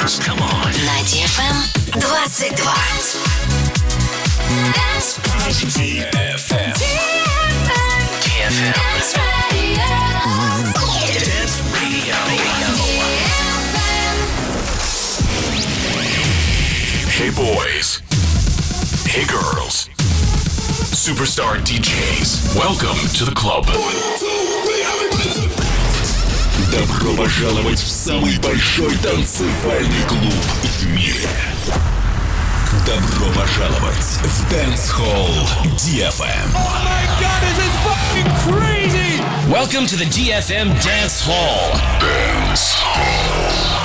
Come on. На DFM 22. DFM. Dance Radio. Hey boys. Hey girls. Superstar DJs. Welcome to the club. Добро пожаловать в самый большой танцевальный клуб в мире. Добро пожаловать в Dance Hall DFM. Oh my god, this is fucking crazy! Welcome to the DFM Dance Hall. Dance Hall.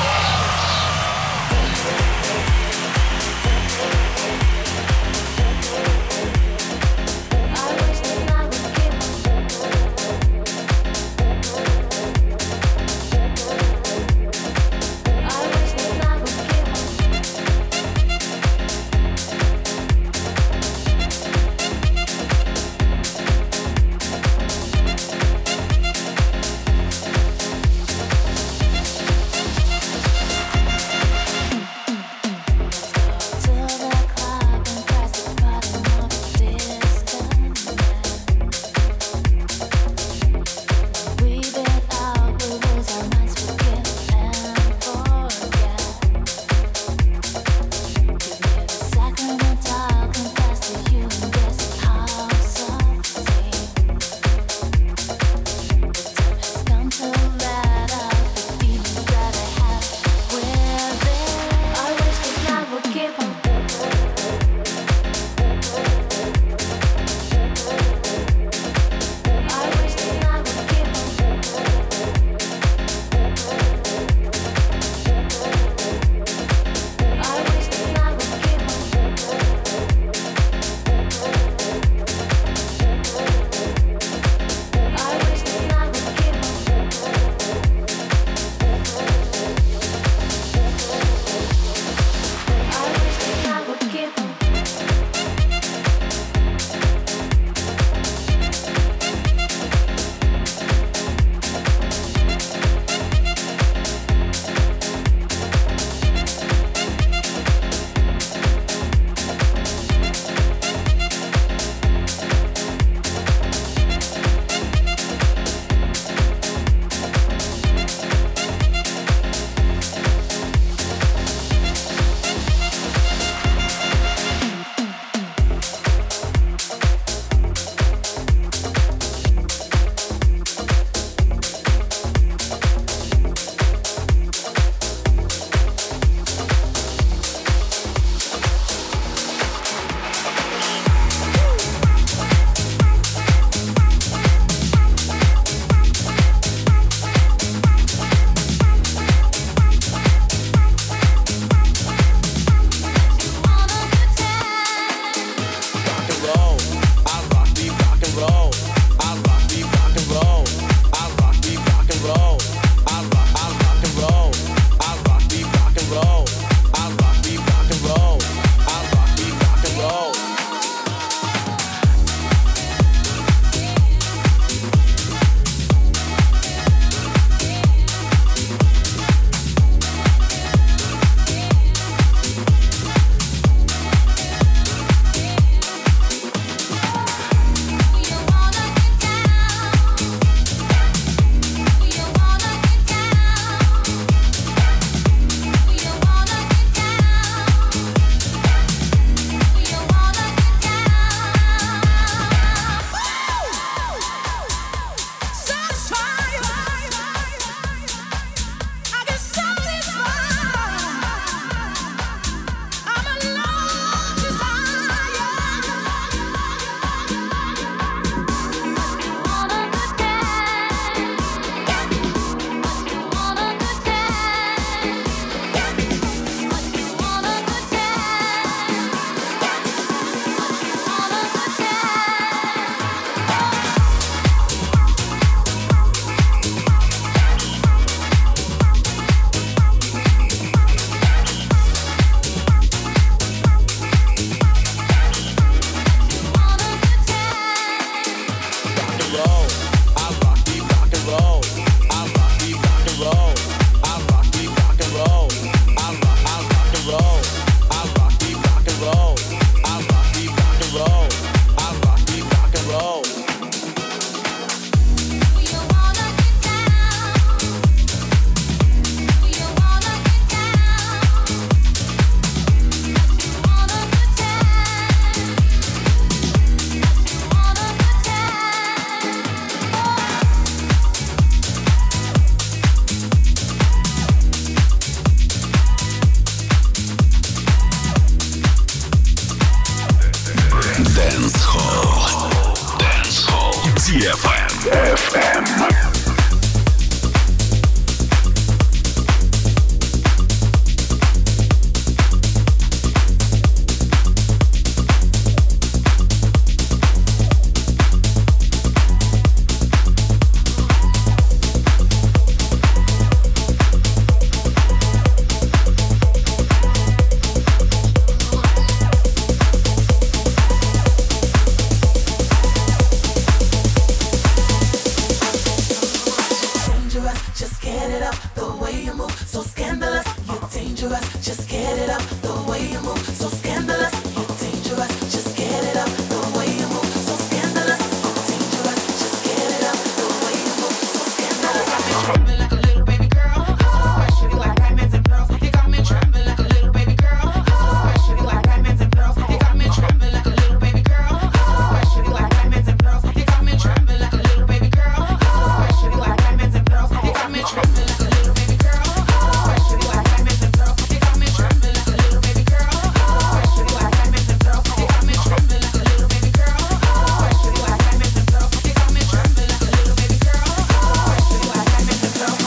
just get it up. The way you move, so scandalous, you're dangerous. Just get it up. The way you move, so scandalous, you're dangerous. Just get it up. The way you move, so scandalous, you're dangerous. Just get it up. The way you move, so scandalous. You got me trembling like a little baby girl. You're so special, you like diamonds and pearls. You got me trembling like a little baby girl. You're so special, you like diamonds and pearls. You got me trembling like a little baby girl. You're so special, you like diamonds and pearls. You got me trembling like a little baby girl. You're so special, you like diamonds and pearls. You got me trembling like a little baby girl. You're so special, you like diamonds and pearls. You got me trembling like a little baby girl. You're so special, you like diamonds and pearls. You got me trembling like a little baby girl. You're so special, you like diamonds and pearls. You got me trembling like a little baby girl. You're so special, you like diamonds and pearls.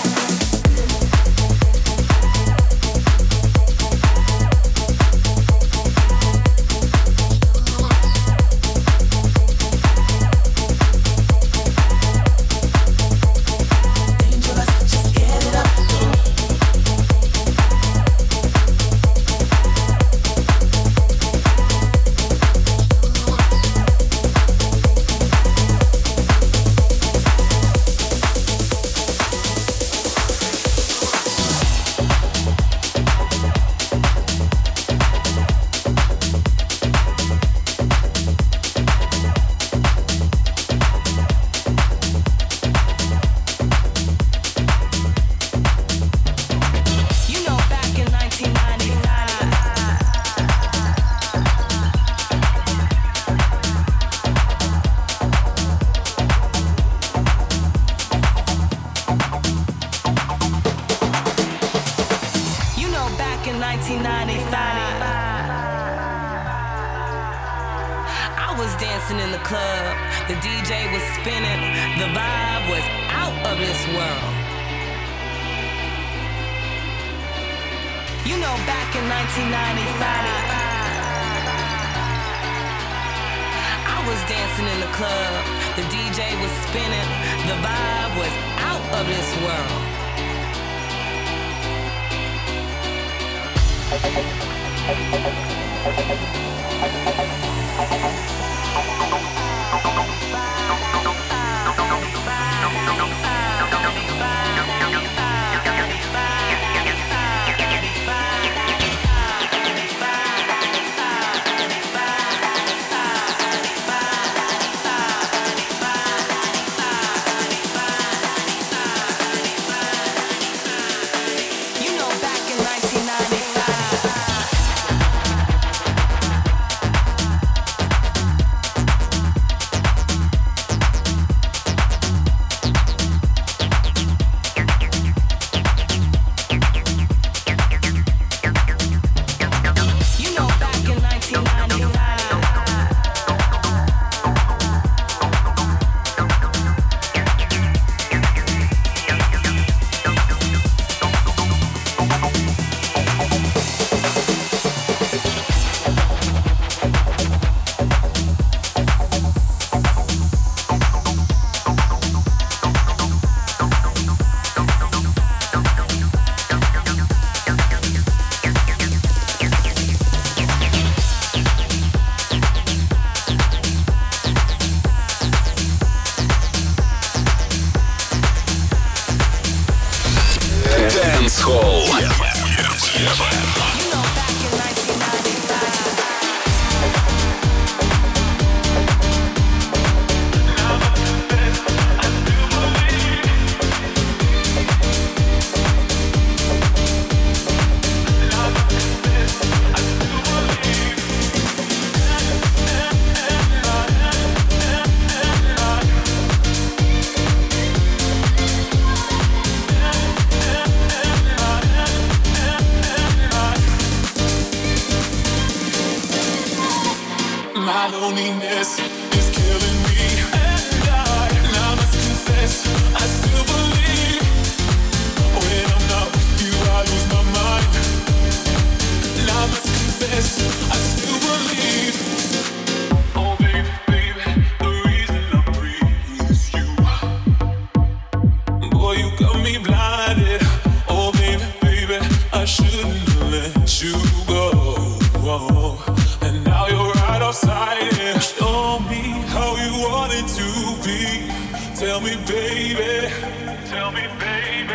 My loneliness is killing me, and I must confess, I still believe. When I'm not with you, I lose my mind. And I must confess, I still believe. Oh baby, baby, the reason I breathe is you. Boy, you got me blinded. Oh baby, baby, I shouldn't let you go. And now you're right outside it. Show me how you want it to be. Tell me, baby. Tell me, baby.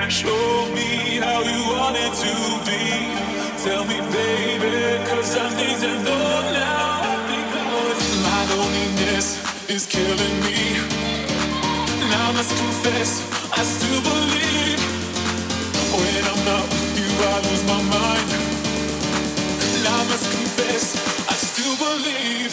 Show me how you want it to be. Tell me, baby, 'cause I need to know now. Because my loneliness is killing me. Now I must confess, I still believe. When I'm not with you, I lose my mind. Now I must confess, I still believe.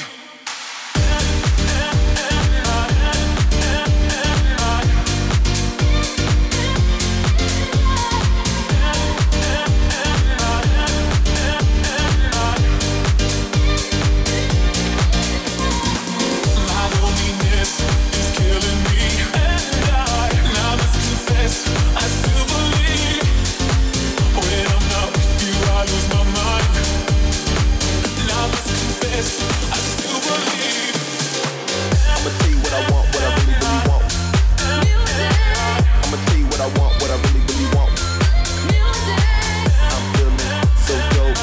I still believe. When I'm not with you, I lose my mind. Now I must confess, I still believe. I'ma tell you what I want, what I really, really want. I'ma tell you what I want, what I really, really want. I'm feeling so dope.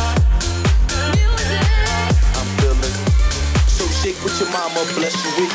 I'm feeling so shake with your mama, bless you with.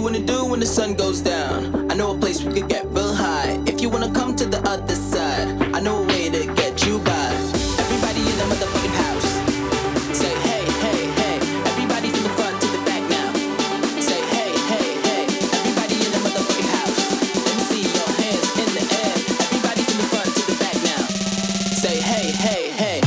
wanna do when the sun goes down? I know a place we could get real high. If you wanna come to the other side, I know a way to get you by. Everybody in the motherfucking house, say hey, hey, hey. Everybody from the front to the back now. Say hey, hey, hey. Everybody in the motherfucking house. Let me see your hands in the air. Everybody from the front to the back now. Say hey, hey, hey.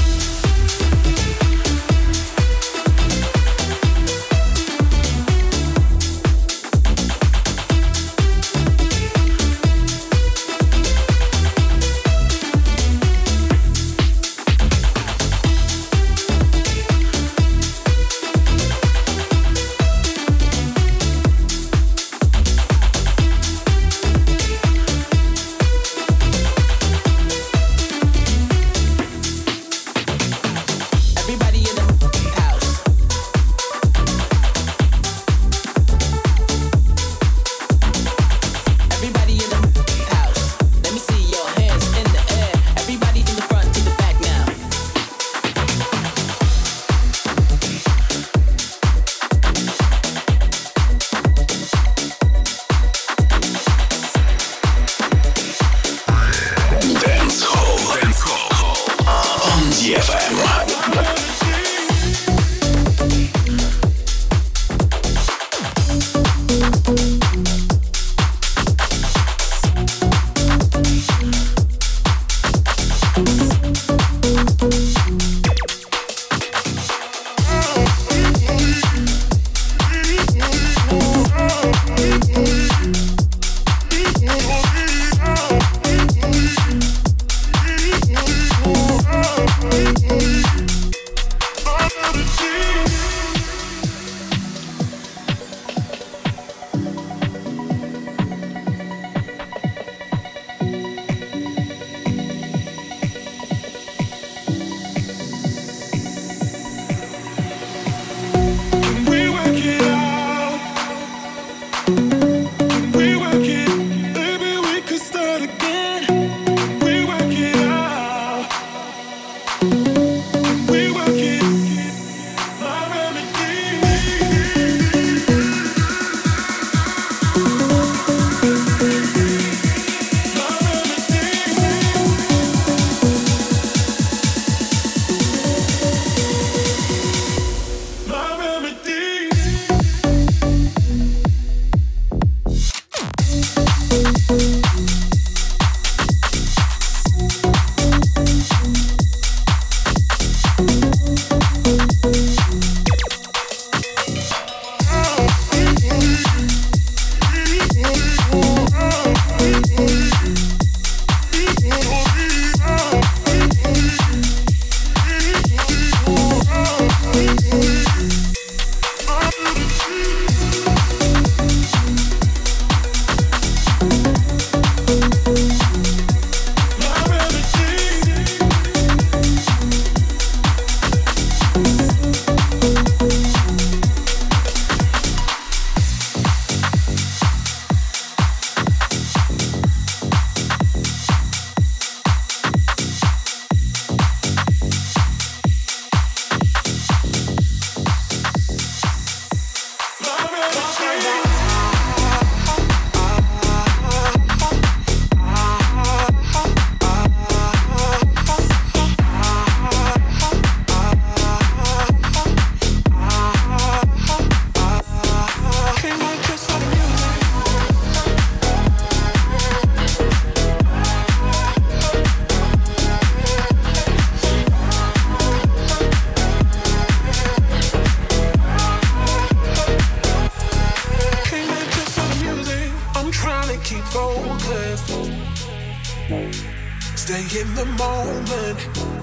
Stay in the moment.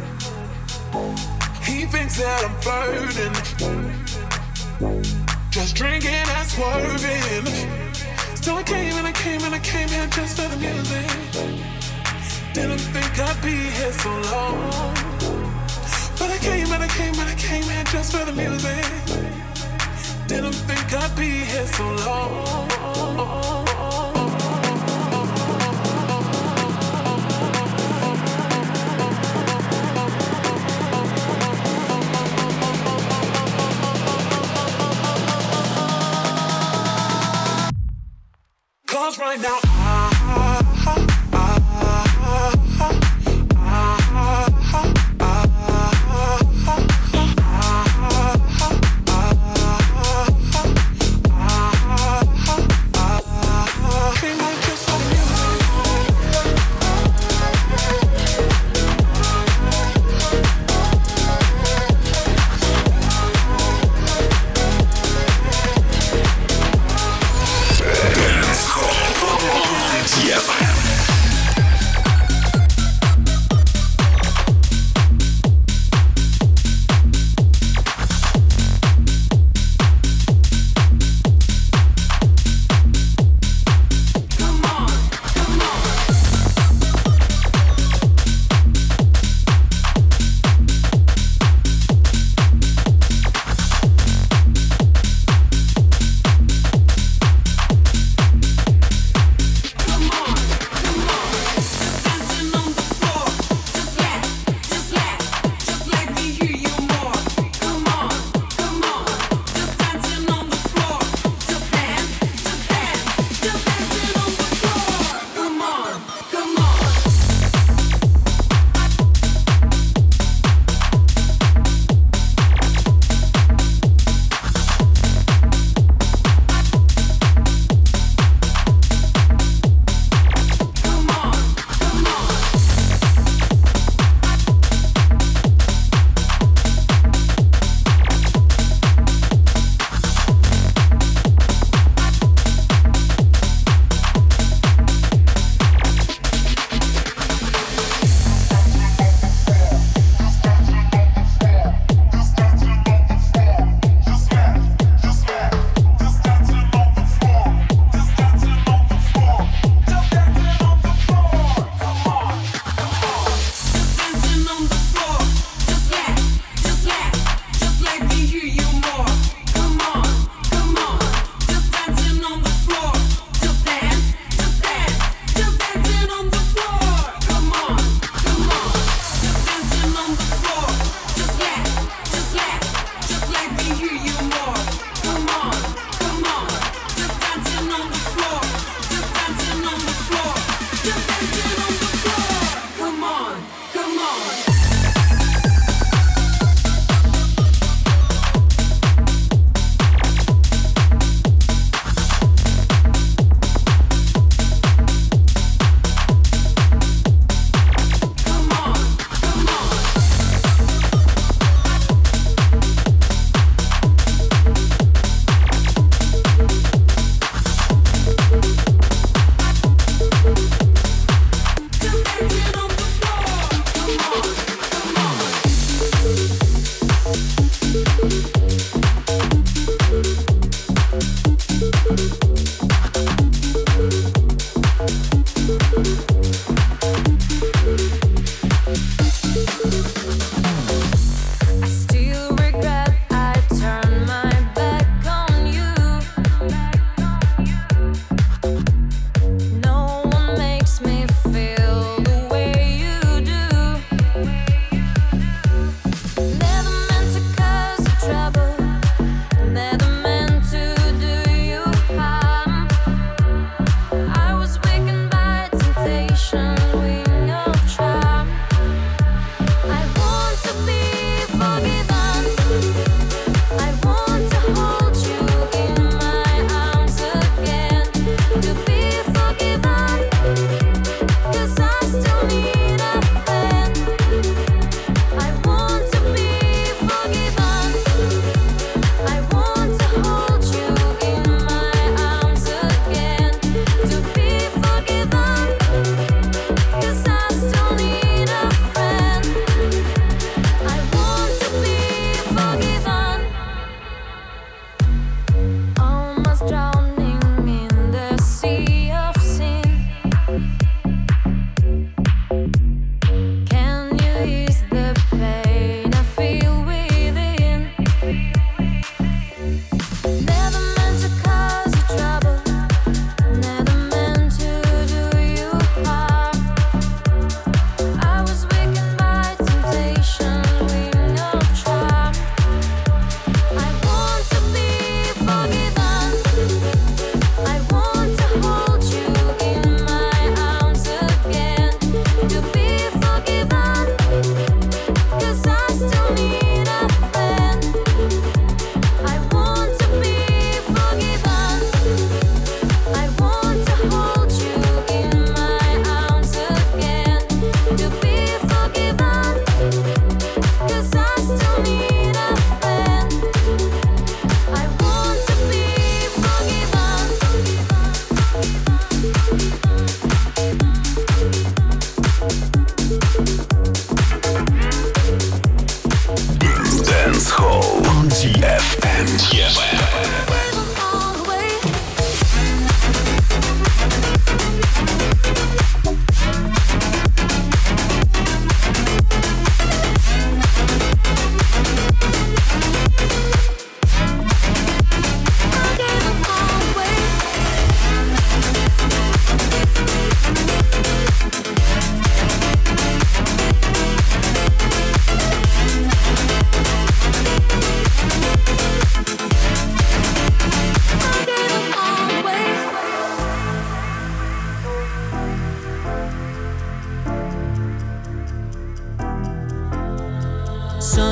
He thinks that I'm flirting, just drinking and swerving. So I came and I came and I came here just for the music. Didn't think I'd be here so long, but I came and I came and I came here just for the music. Didn't think I'd be here so long. yours right now.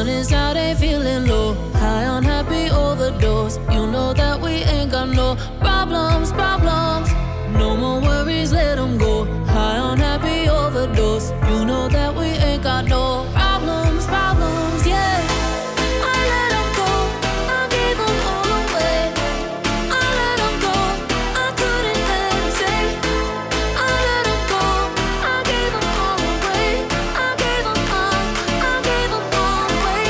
sun is out, ain't feeling low. High on happy overdose. You know that we ain't got no problems. No more worries, let them go. High on happy overdose. You know that we ain't got no problems, yeah. I let them go, I gave them all away. I let them go, I couldn't let them stay. I let them go, I gave them all away. I gave them all away.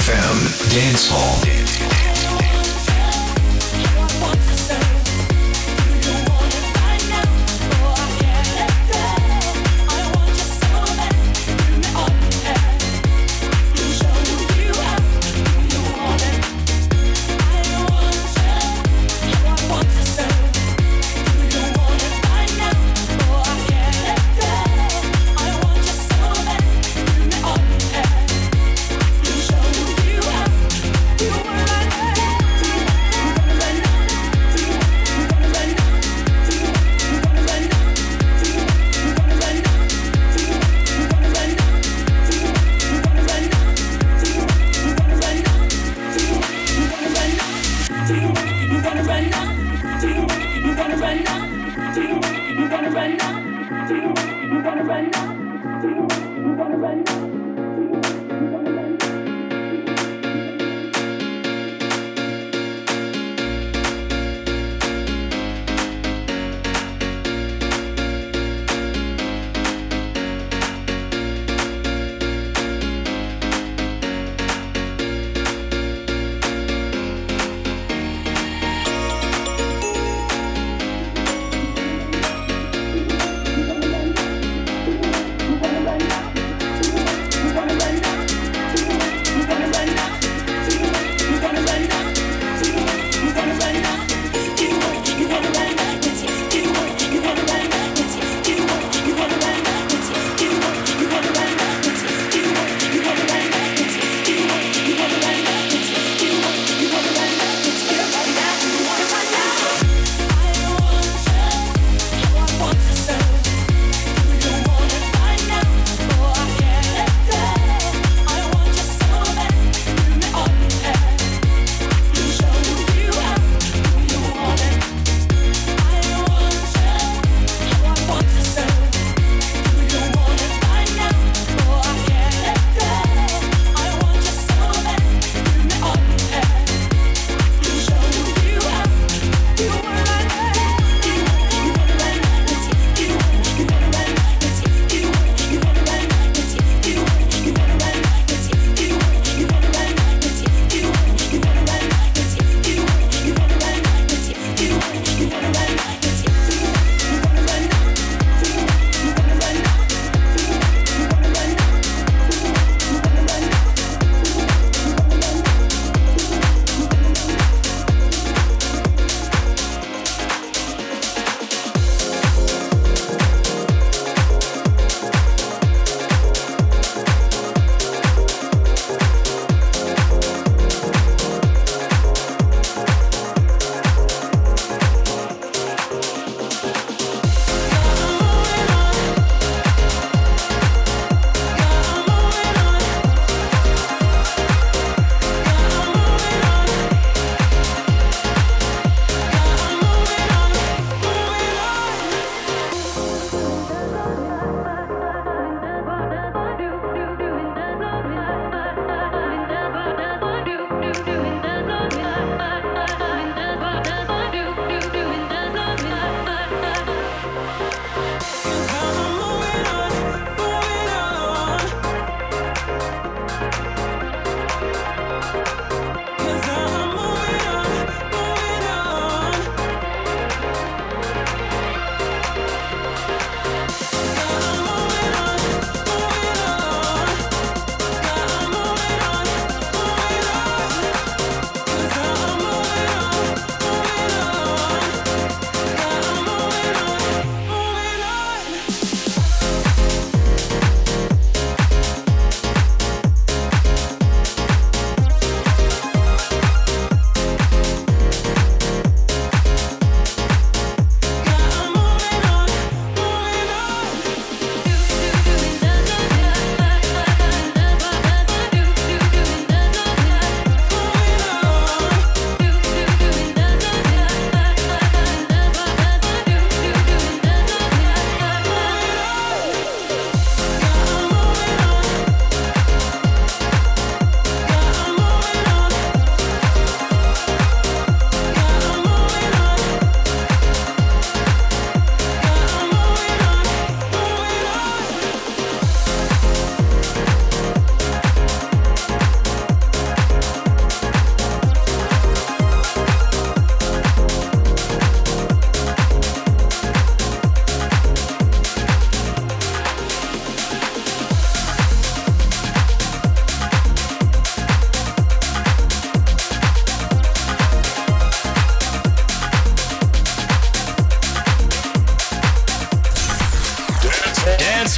DFM Dance Hall.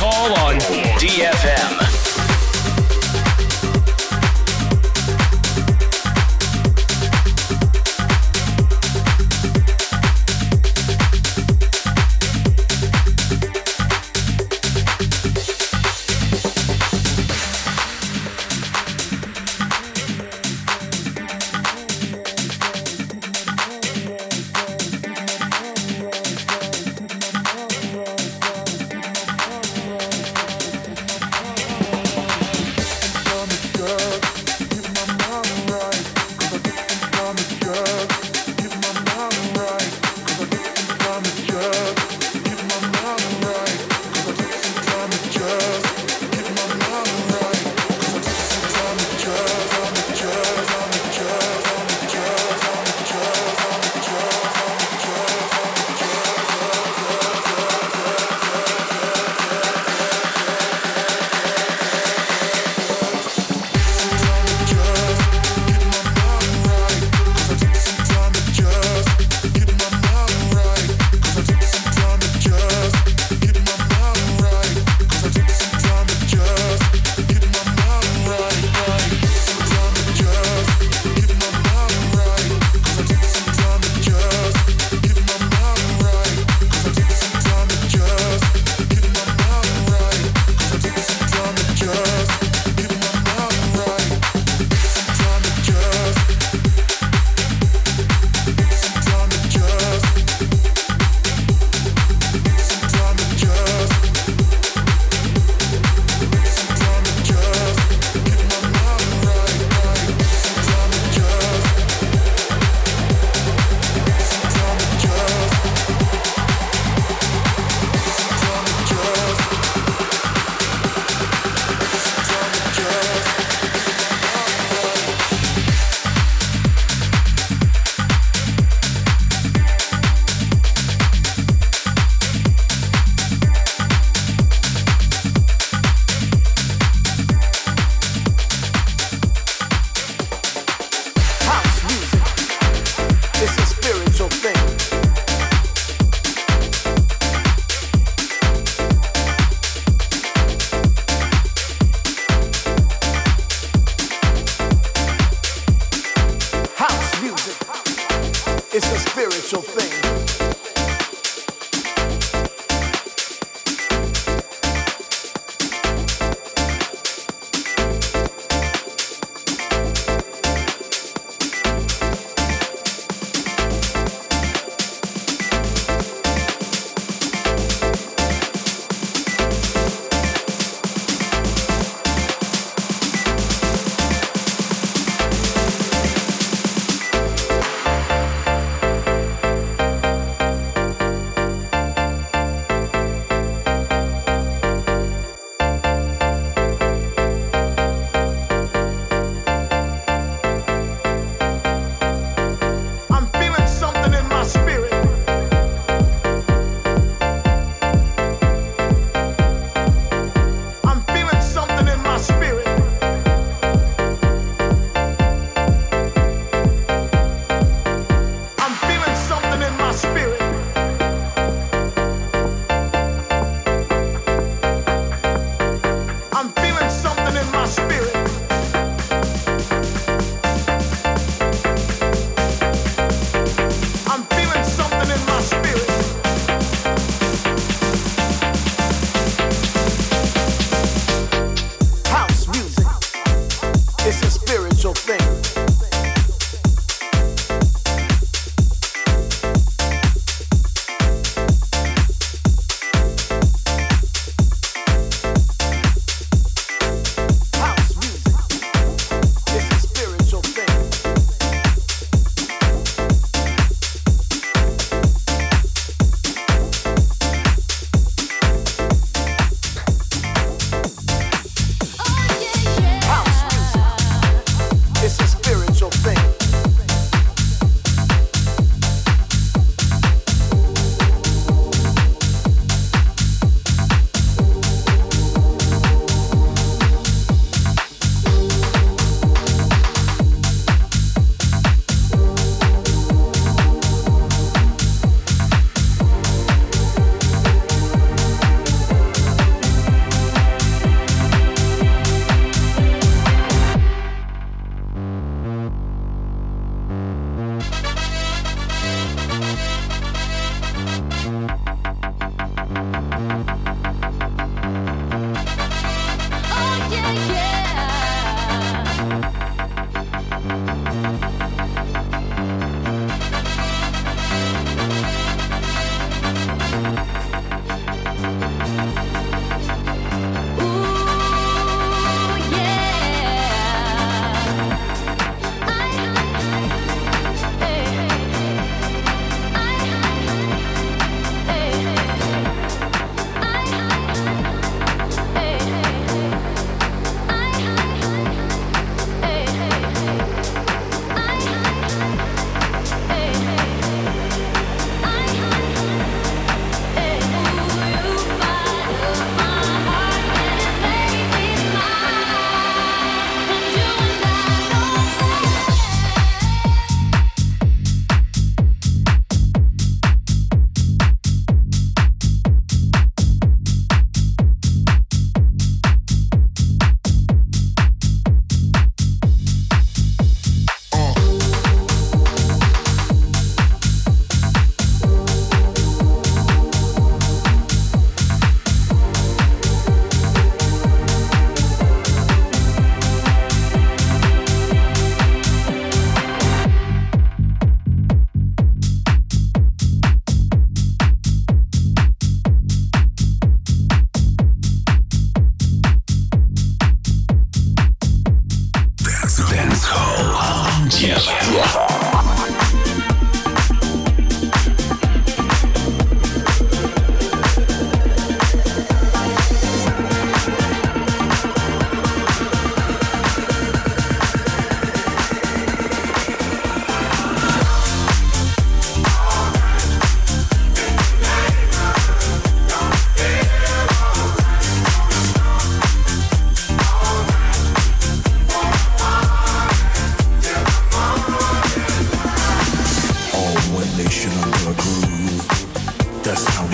Hall on DFM.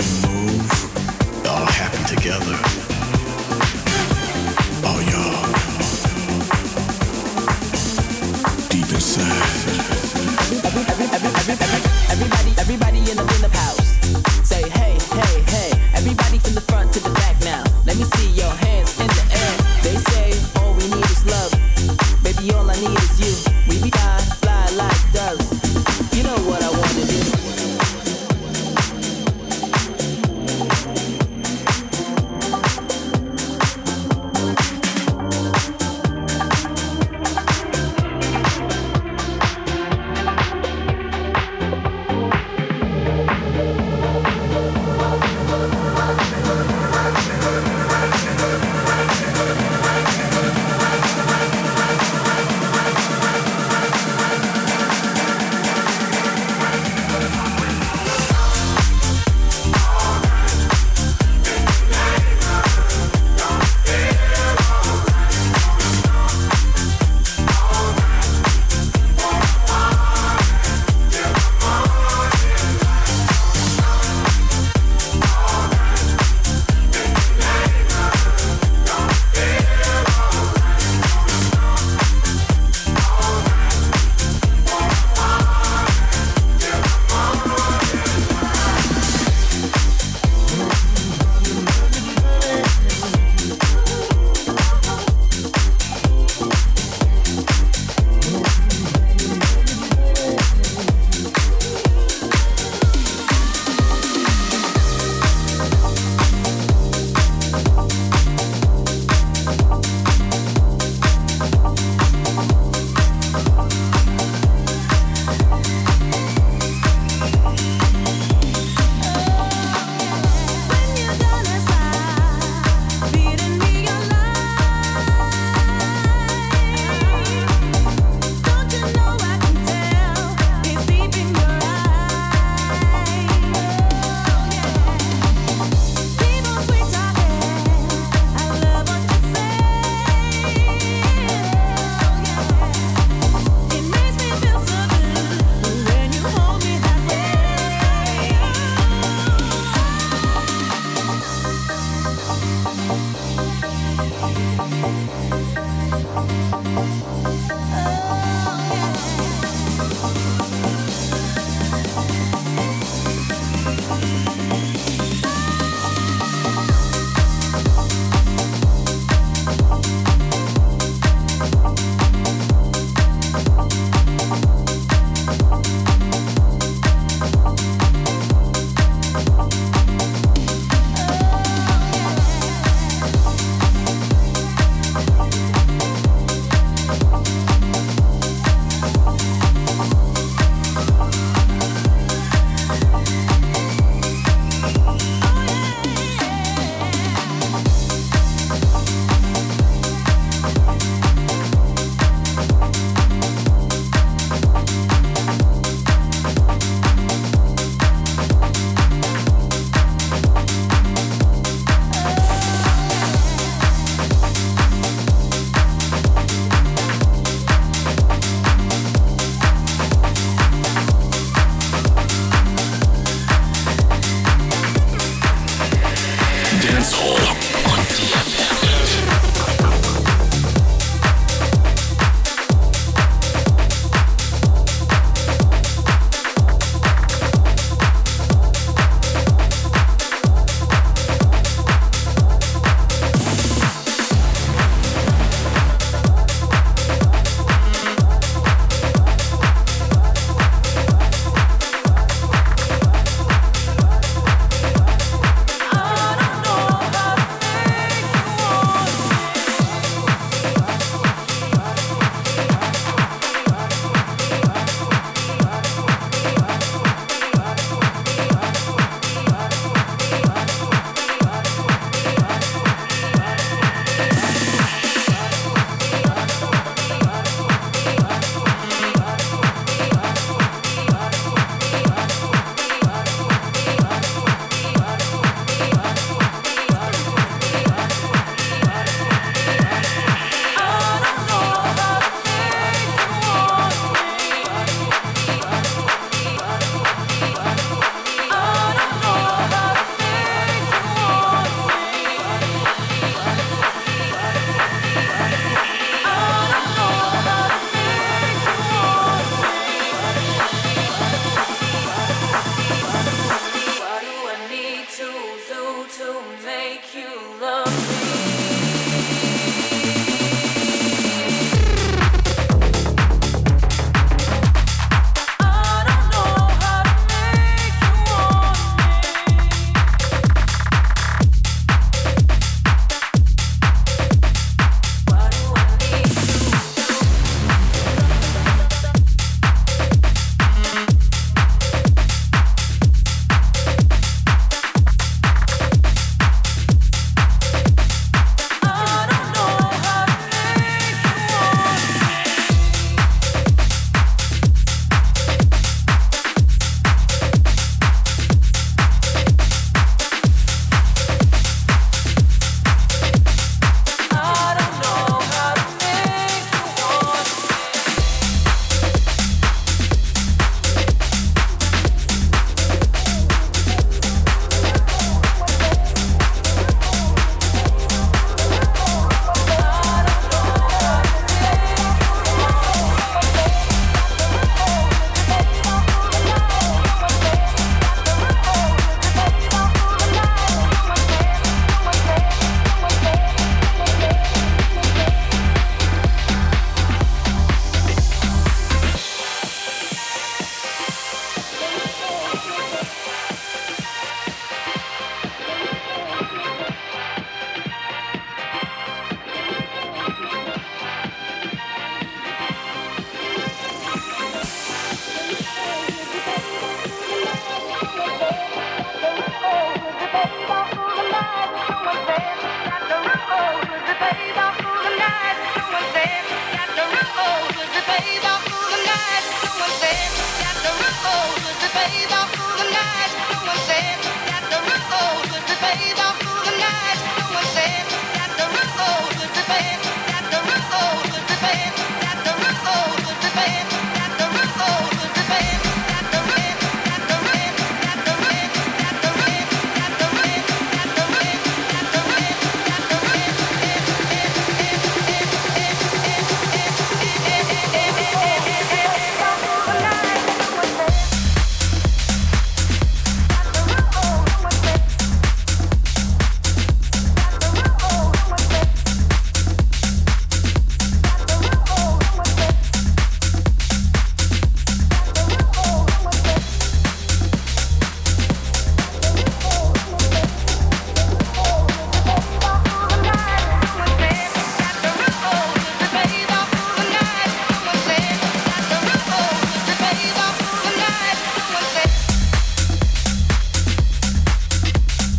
Dance Hall